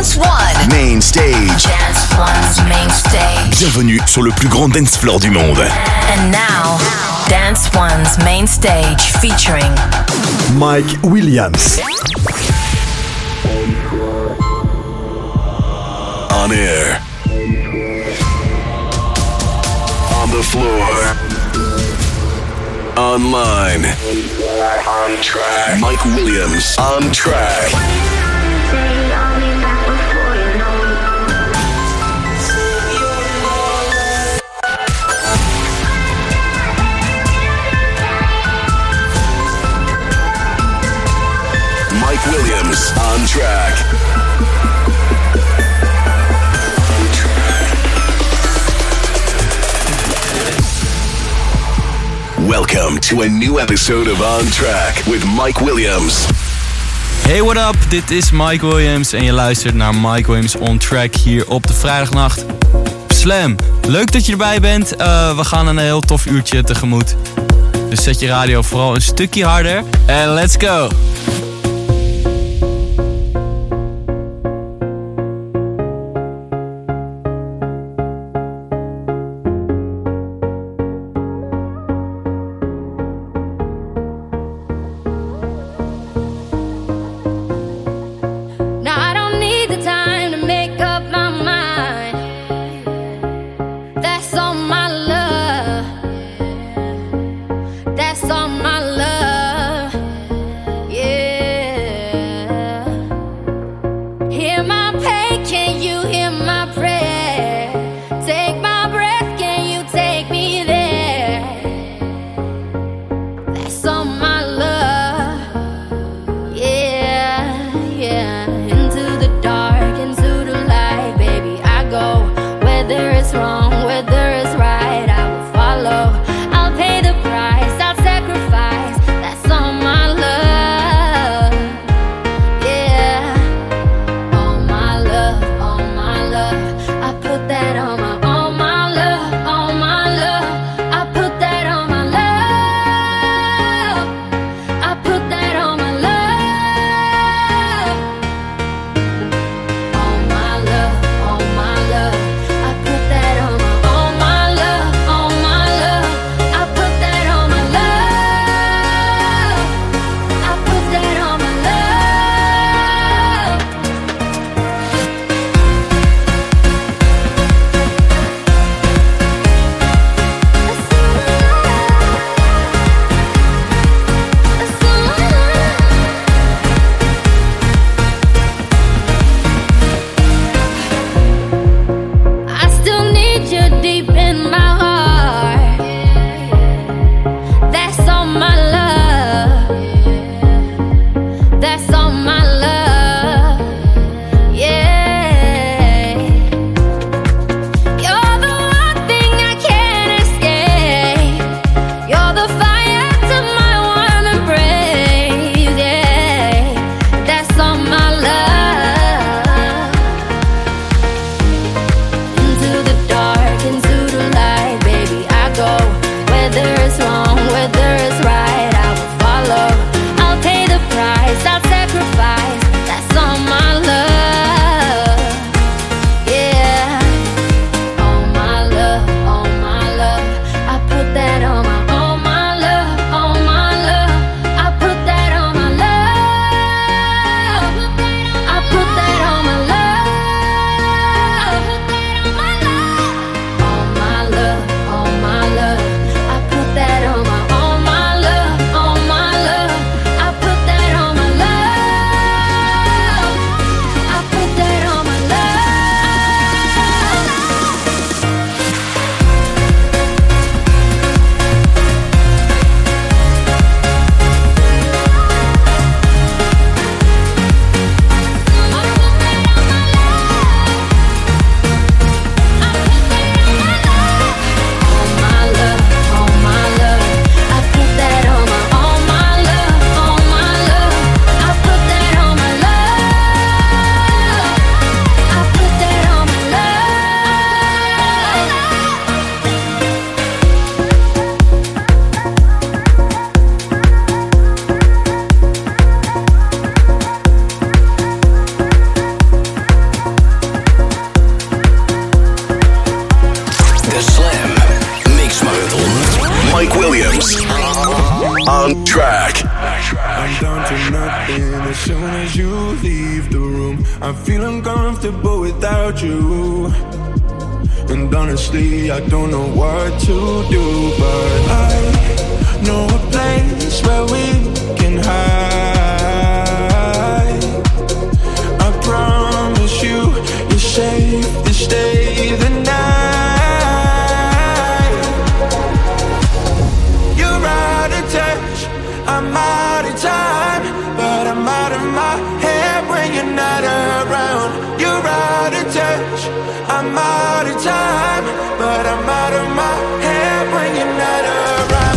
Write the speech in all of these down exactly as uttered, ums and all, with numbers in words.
Dance One. Main Stage. Dance One's Main Stage. Bienvenue sur le plus grand dance floor du monde. And now, Dance One's Main Stage featuring Mike Williams. On air. On the floor. Online. On track. Mike Williams on track. Mike Williams on track. Welcome to a new episode of On Track with Mike Williams. Hey, what up? Dit is Mike Williams en je luistert naar Mike Williams On Track hier op de vrijdagnacht. Slam, leuk dat je erbij bent. Uh, we gaan een heel tof uurtje tegemoet. Dus zet je radio vooral een stukje harder en let's go! My I feel uncomfortable without you. And honestly, I don't know what to do. But I know a place where we can hide. I promise you, you're safe to stay the night. You're out of touch, I'm out of time, but I'm out of my head when you're not around. You're out of touch, I'm out of time, but I'm out of my head when you're not around.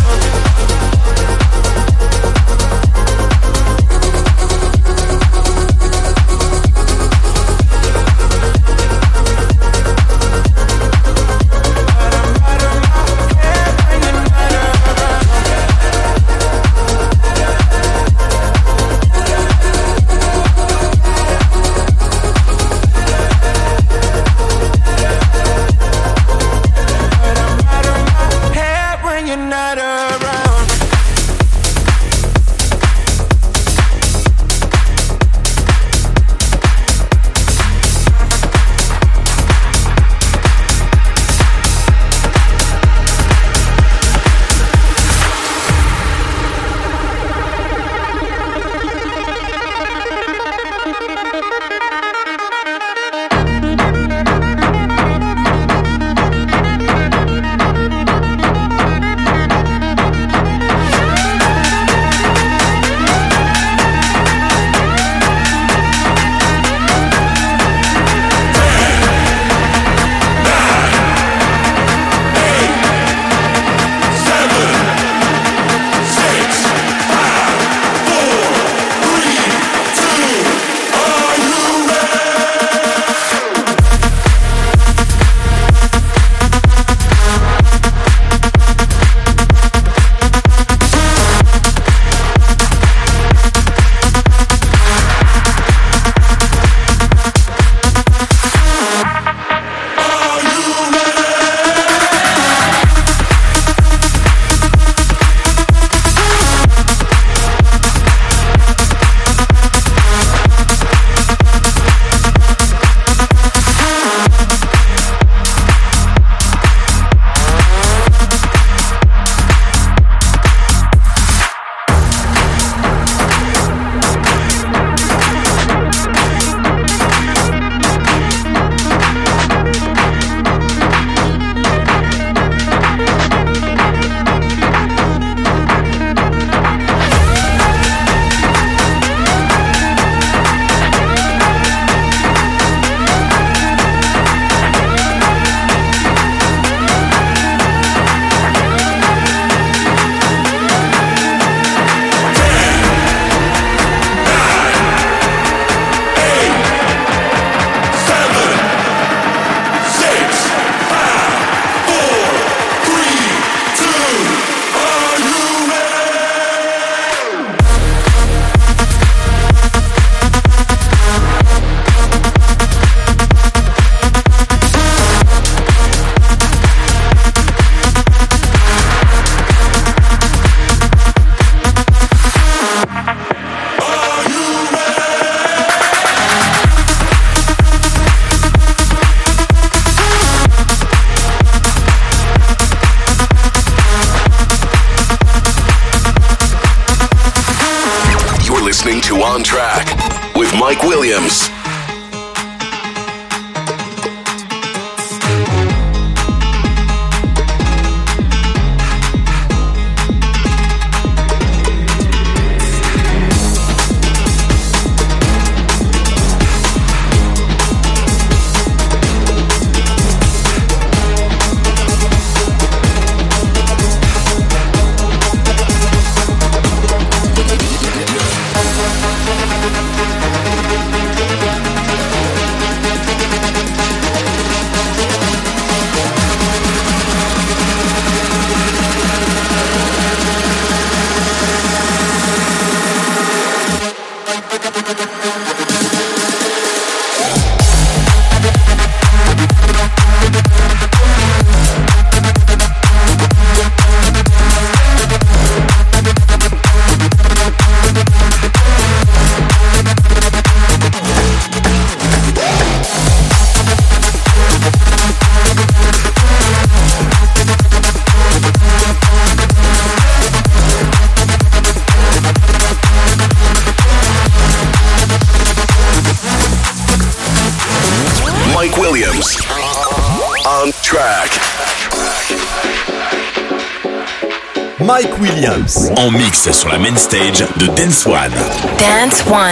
On Track with Mike Williams. We'll be right back. Mike Williams. On track. Mike Williams. En mix sur la main stage de Dance One. Dance One.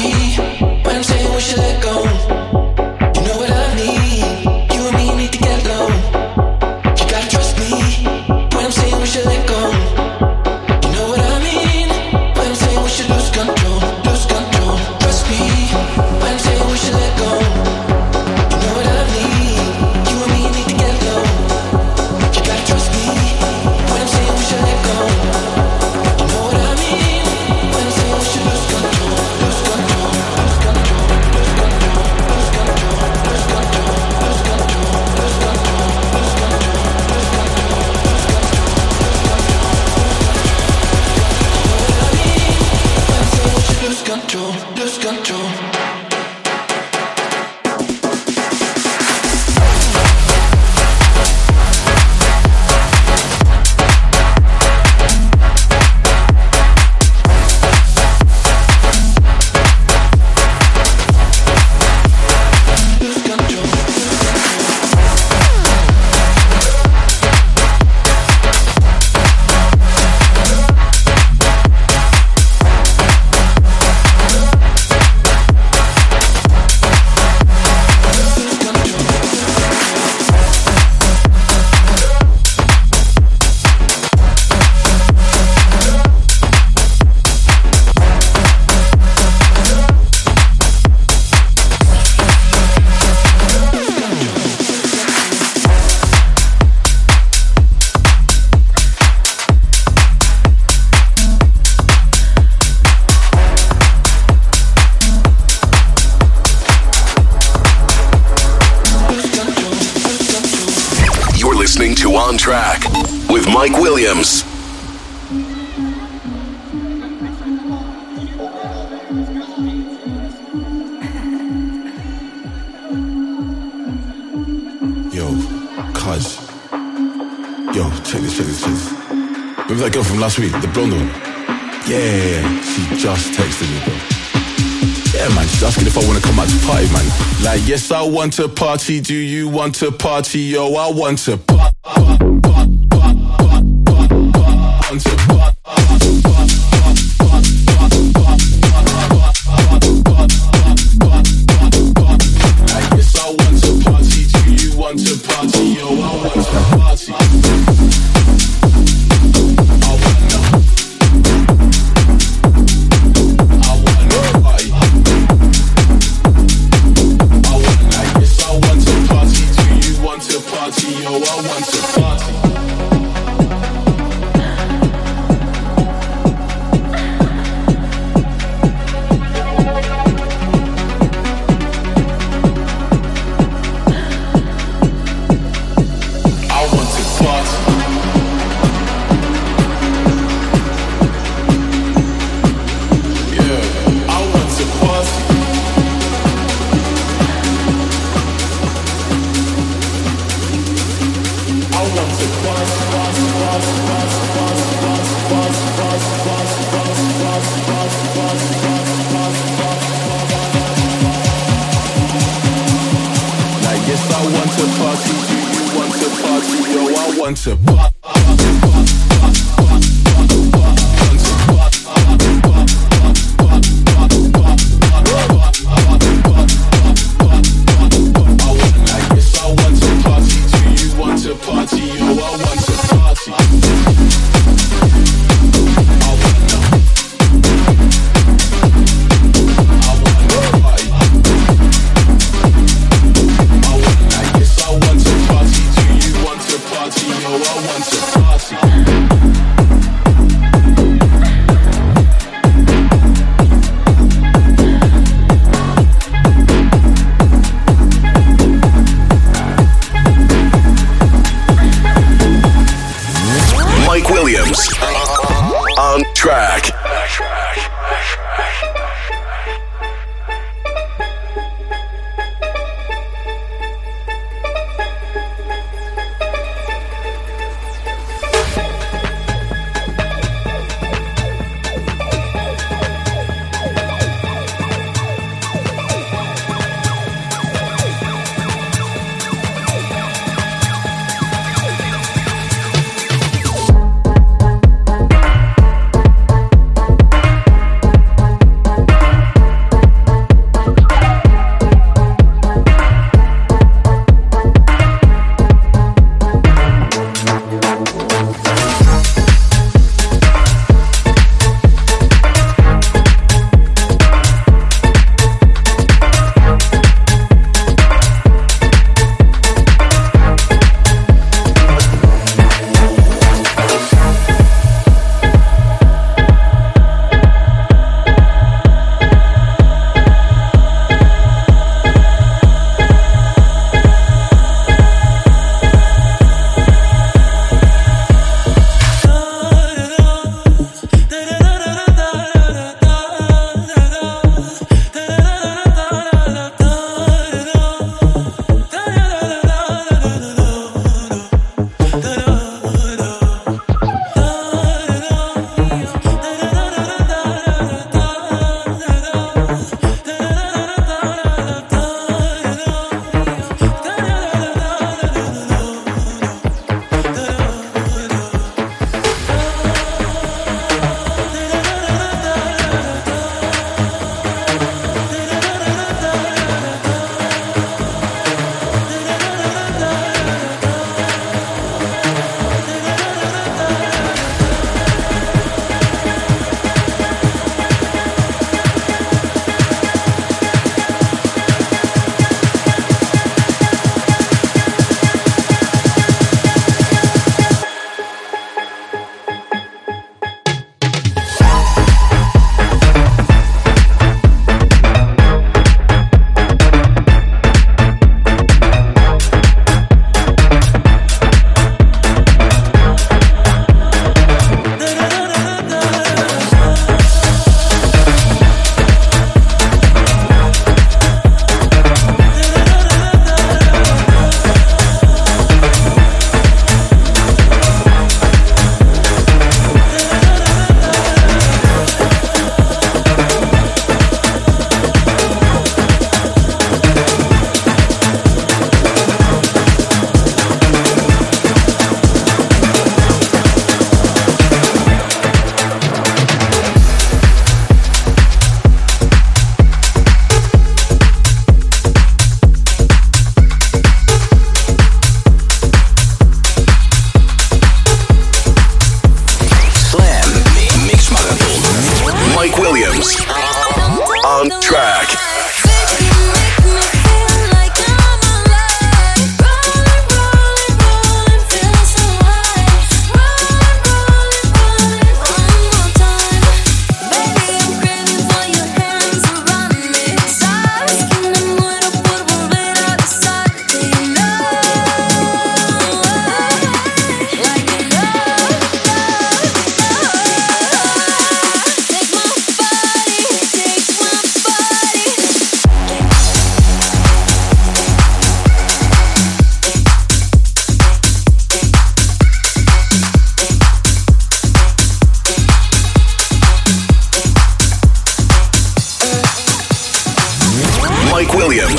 On Track with Mike Williams. Yo, cuz. Yo, check this, check this, check this. Remember that girl from last week, the blonde one? Yeah, she just texted me, bro. Yeah, man, she's asking if I want to come out to party, man. Like, yes, I want to party. Do you want to party? Yo, I want to party. Party, yo, I want to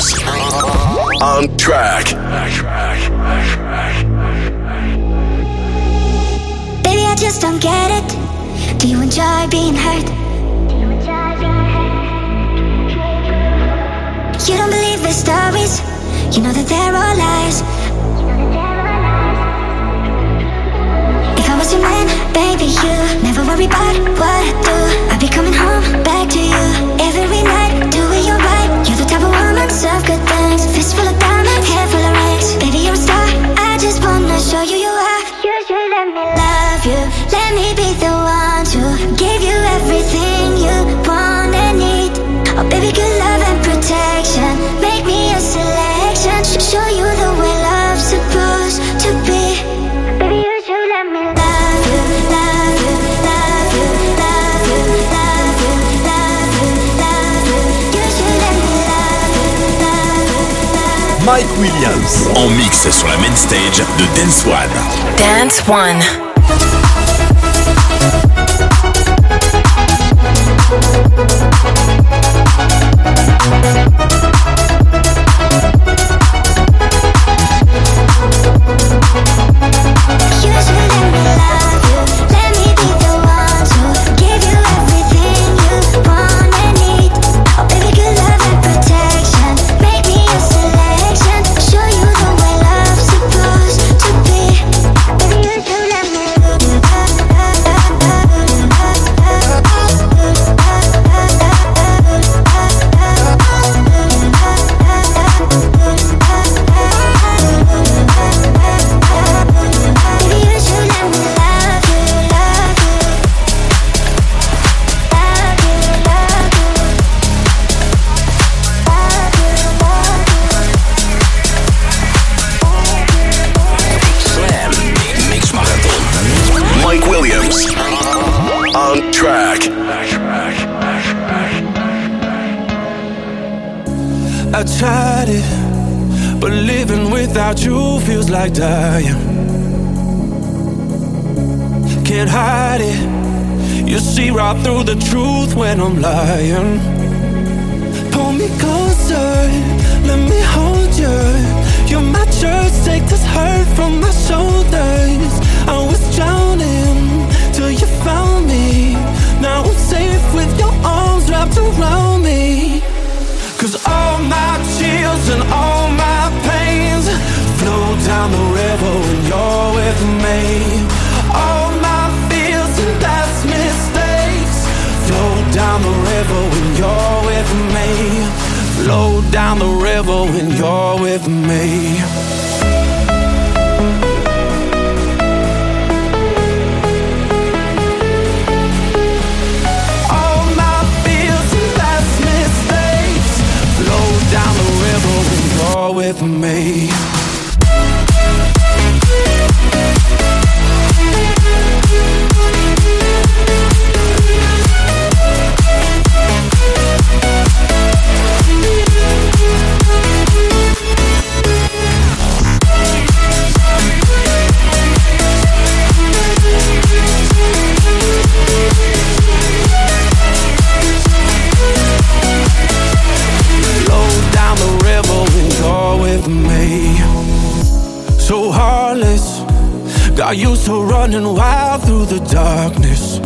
Williams. On track. Baby, I just don't get it. Do you enjoy being hurt? You don't believe the stories. You know that they're all lies. If I was your man, baby, you never worry about what I do. I'd be coming home back to you every night, doing you right. You're the type of woman, serve good things. Fist full of diamonds, hair full of rings. Baby, you're a star. I just wanna show you you are. You should let me love you. Let me be the one to give you everything you want and need. Oh, baby, good love and protection. Make me a selection. Show you the way love's supposed to be. Baby, you should let me love you, love you, love you, love you, love you, love you, love you. You should let me love you, love you, love you. Mike Williams. En mix sur la main stage de Dance One. Dance One. I tried it, but living without you feels like dying. Can't hide it. You see right through the truth when I'm lying. Pull me closer, let me hold you. You're my church, take this hurt from my shoulders. I was drowning till you found me. Now I'm safe with your arms wrapped around me. Cause all my chills and all my pains flow down the river when you're with me. All my fears and past mistakes flow down the river when you're with me. Flow down the river when you're with me. Down the river when you're with me. So heartless, got used to running wild through the darkness.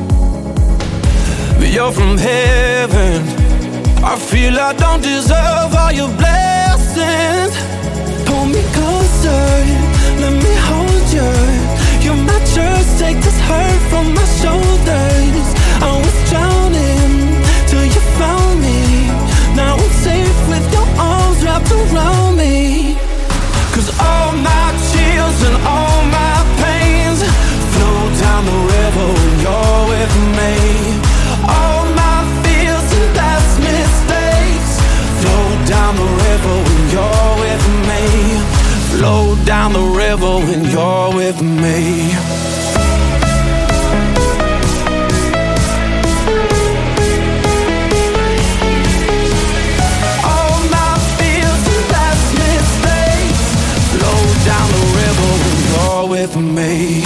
But you're from heaven. I feel I don't deserve all your blessings. Pull me closer, let me hold you. You're my church, take this hurt from my shoulders. I was drowning till you found me. Now I'm safe with your arms wrapped around me. Cause all my chills and all my pains flow down the river when you're with me. All my fears and past mistakes flow down the river when you're with me. Flow down the river when you're with me. Down the river when you're with me.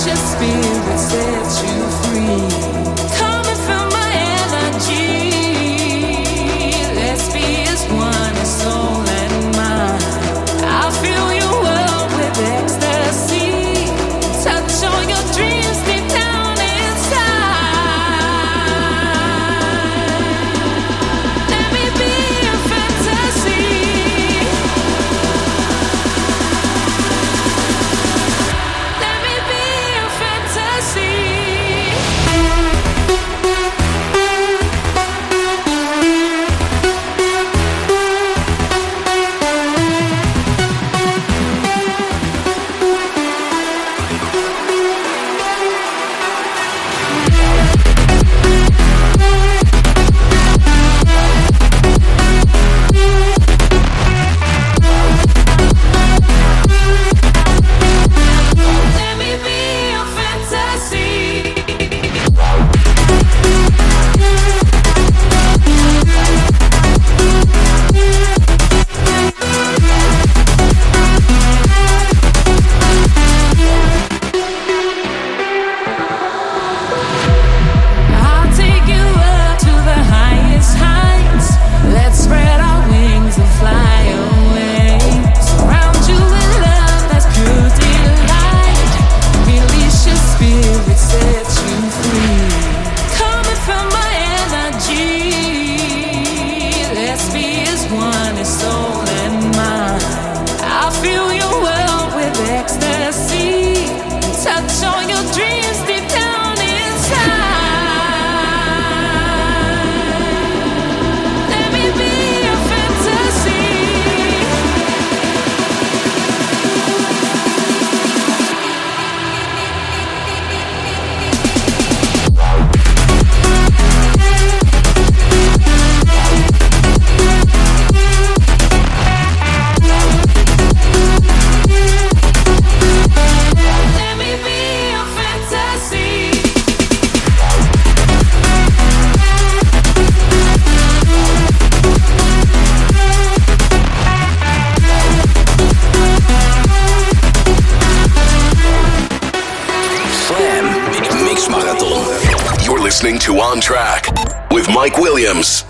listening to On Track with Mike Williams.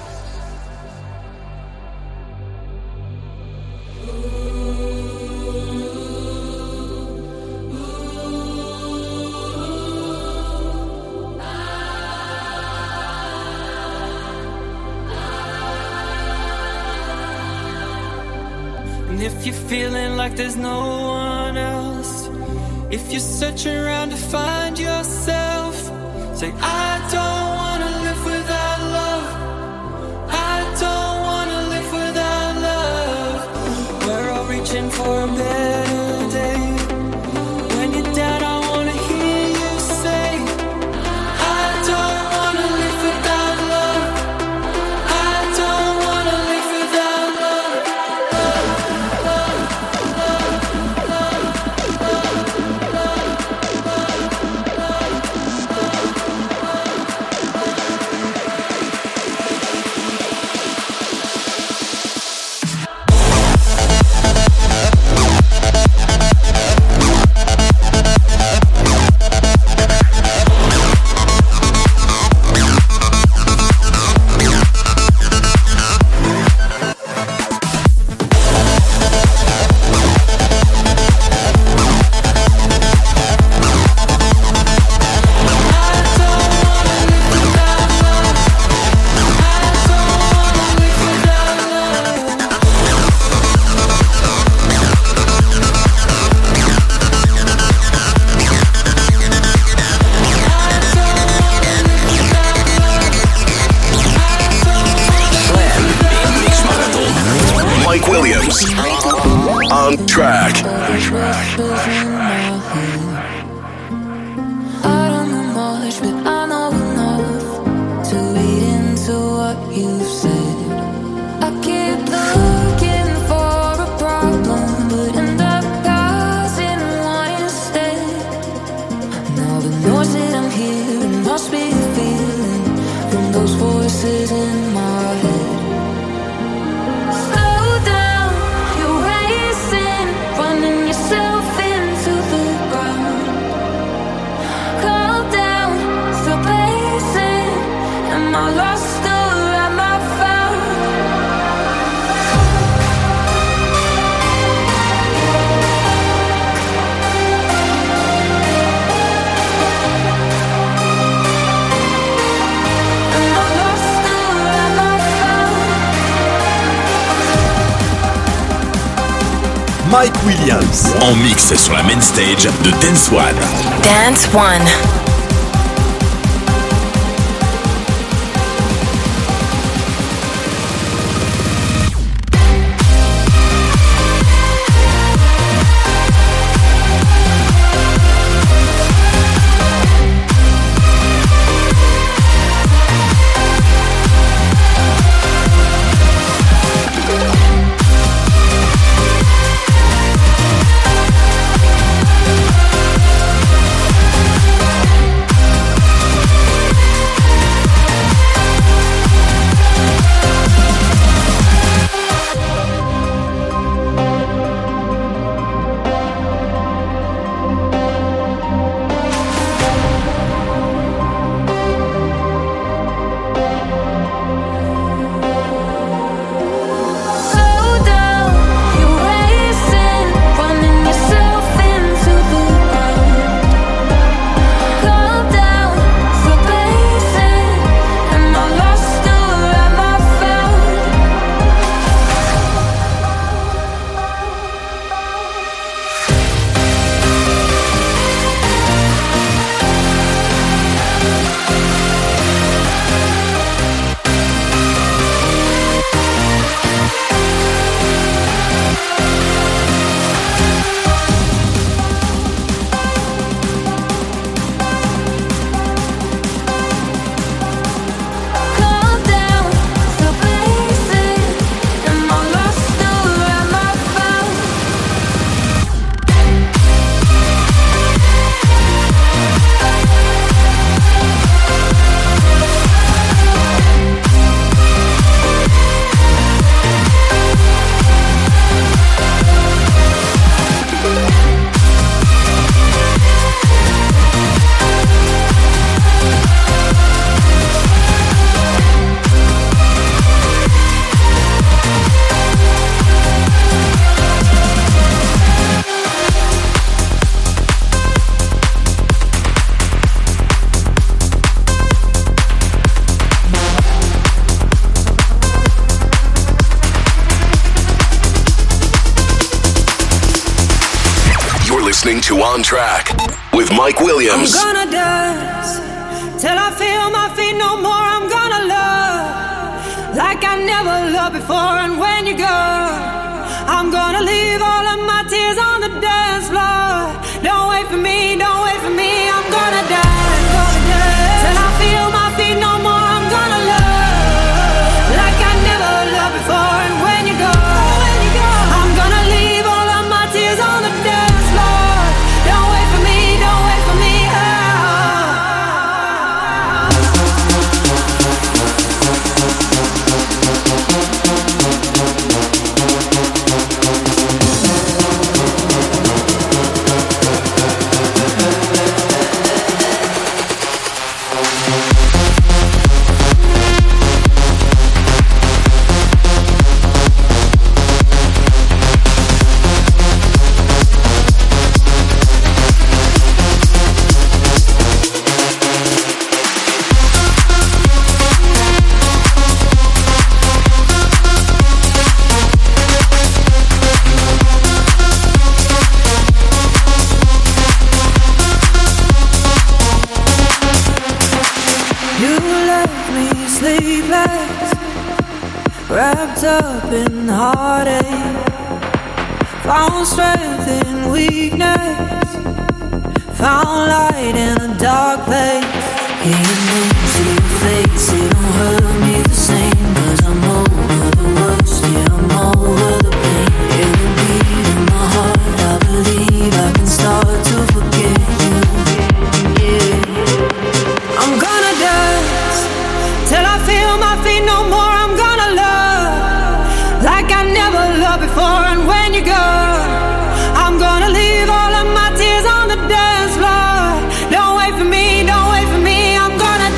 And if you're feeling like there's no one else, if you're searching around to find yourself, say, I don't wanna live without love. I don't wanna live without love. We're all reaching for a better day. When you're down, I wanna hear you say, I don't wanna live without love. I don't wanna live without love. Mike Williams. On Track. I don't know much, but I know enough to read into what you've said. I keep looking for a problem, but end up causing one instead. Now the noise that I'm hearing must be a feeling from those voices in my head. Slow down, you Am I lost or am I found? Am I lost or am I found? Mike Williams En mix sur la main stage de Dance One. Dance One. To On Track with Mike Williams. I'm gonna dance till I feel my feet no more. I'm gonna love like I never loved before. And when you go, I'm gonna leave all of my tears on the dance floor. Don't wait for me, don't wait for me. I'm gonna dance, gonna dance till I feel my feet no more. I'm gonna love like I never loved before. And when you go, when you go, I'm gonna leave all of my tears on the dance floor. Don't wait for me, don't wait for me. Oh. Wrapped up in heartache, found strength in weakness, found light in a dark place. Can't move to your face, it don't hurt me the same. Cause I'm over the worst, yeah, I'm over the pain. Every beat in my heart, I believe I can start to forget you. Yeah, I'm gonna dance till I feel my feet no more. I'm gonna love like I never loved before. And when you go, I'm gonna leave all of my tears on the dance floor. Don't wait for me, don't wait for me. I'm gonna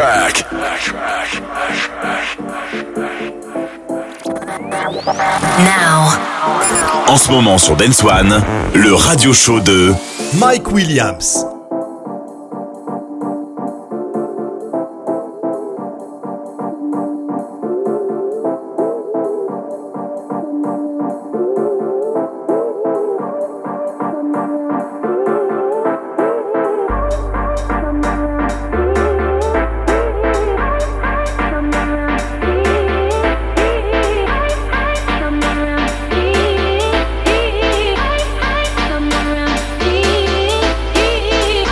track. Now. En ce moment sur Dance One, le radio show de Mike Williams. Come around, come around,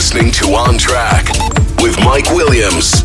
listening to On Track with Mike Williams.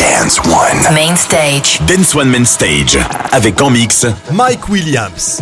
Dance One. Main Stage. Dance One Main Stage. Avec en mix Mike Williams.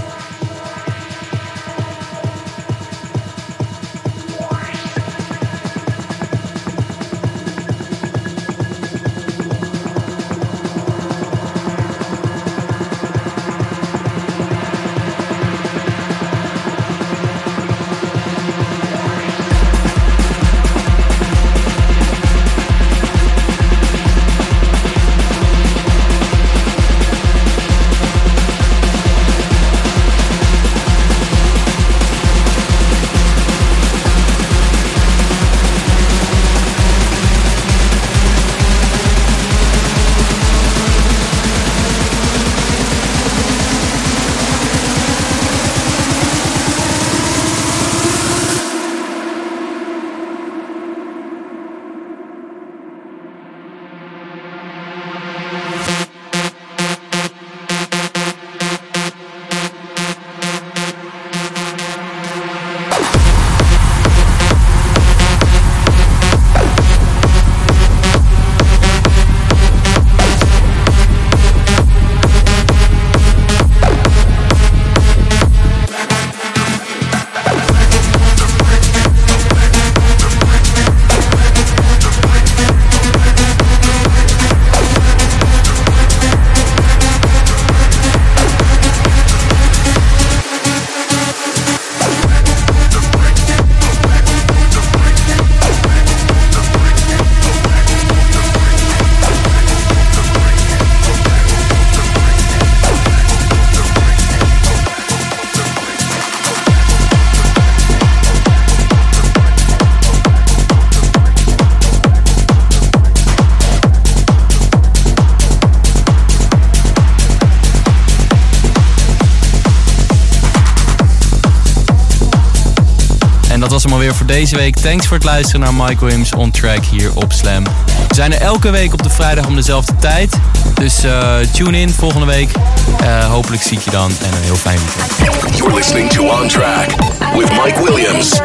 Dat was hem alweer voor deze week. Thanks voor het luisteren naar Mike Williams On Track hier op Slam. We zijn er elke week op de vrijdag om dezelfde tijd. Dus uh, tune in volgende week. Uh, hopelijk zie ik je dan en een heel fijn weekend. You're listening to On Track with Mike Williams.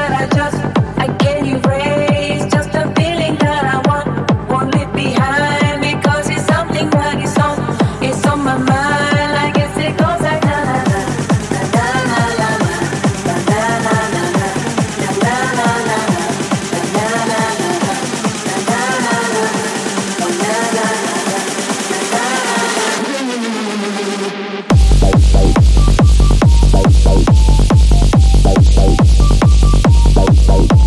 Bye.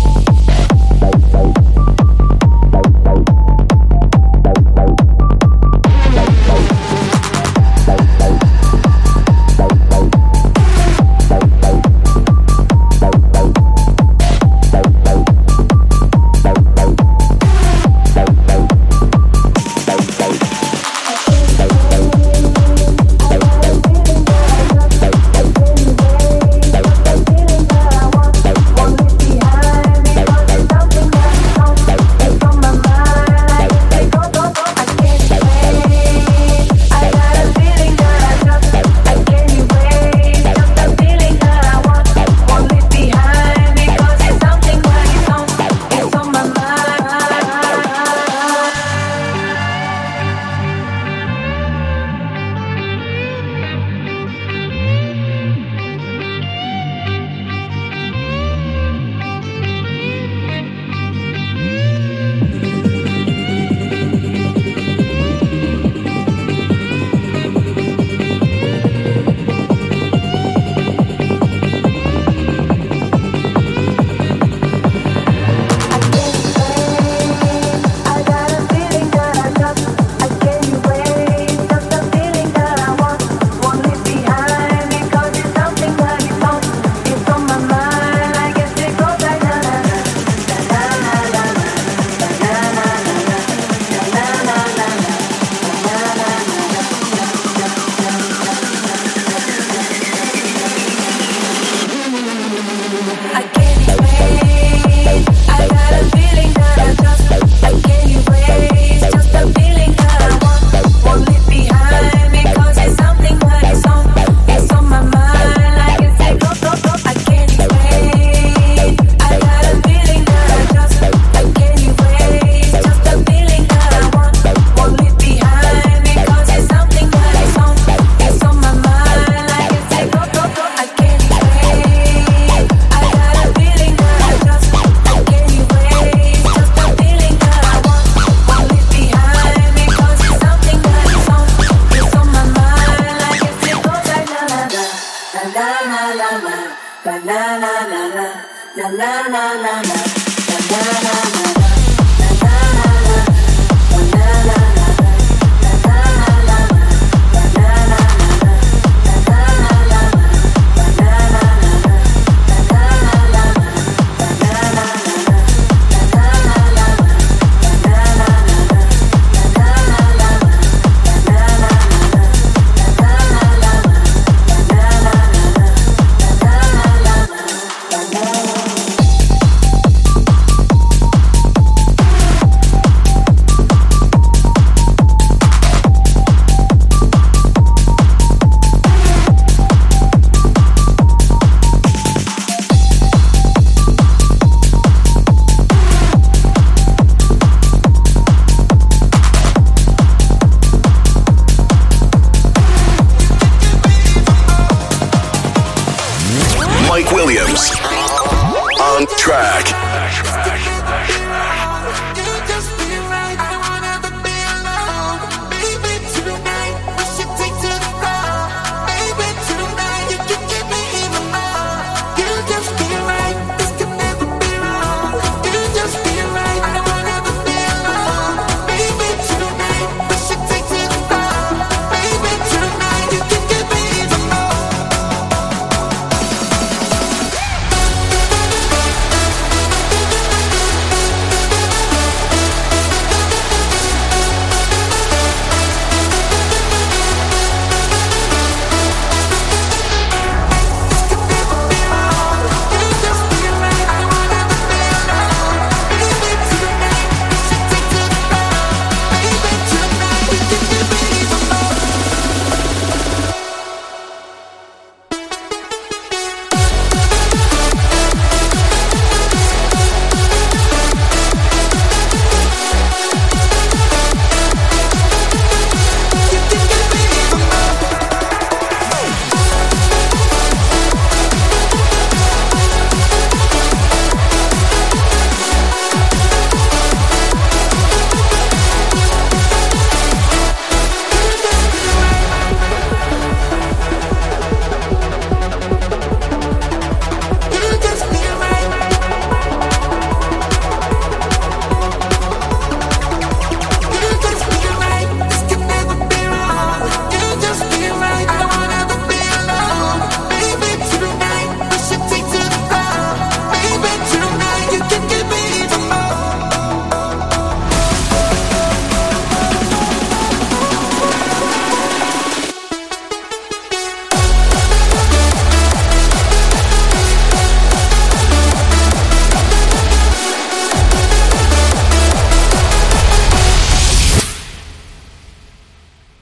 Mike Williams on track.